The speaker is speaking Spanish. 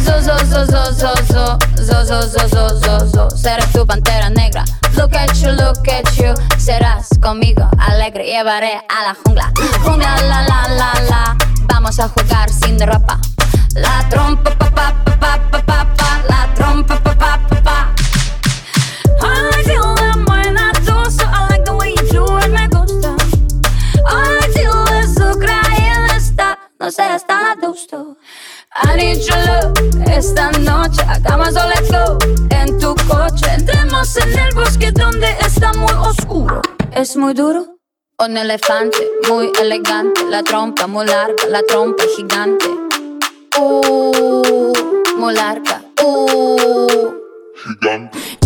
Seré tu pantera negra. Look at you. Serás conmigo alegre. Llevaré a la jungla. Jungla, la, la, la, la. Vamos a jugar sin ropa. La trompa, pa, pa, pa, pa, pa, pa, pa. La trompa, pa, pa, pa, pa. I feel that buena dosa. I like the way you do it, me gusta. I feel eso, creen esta. No sé, está gusto. I need your love esta noche. Hagamos o let's go. En tu coche entremos en el bosque donde está muy oscuro. Es muy duro. Un elefante muy elegante. La trompa muy larga, la trompa gigante. Muy larga. Gigante.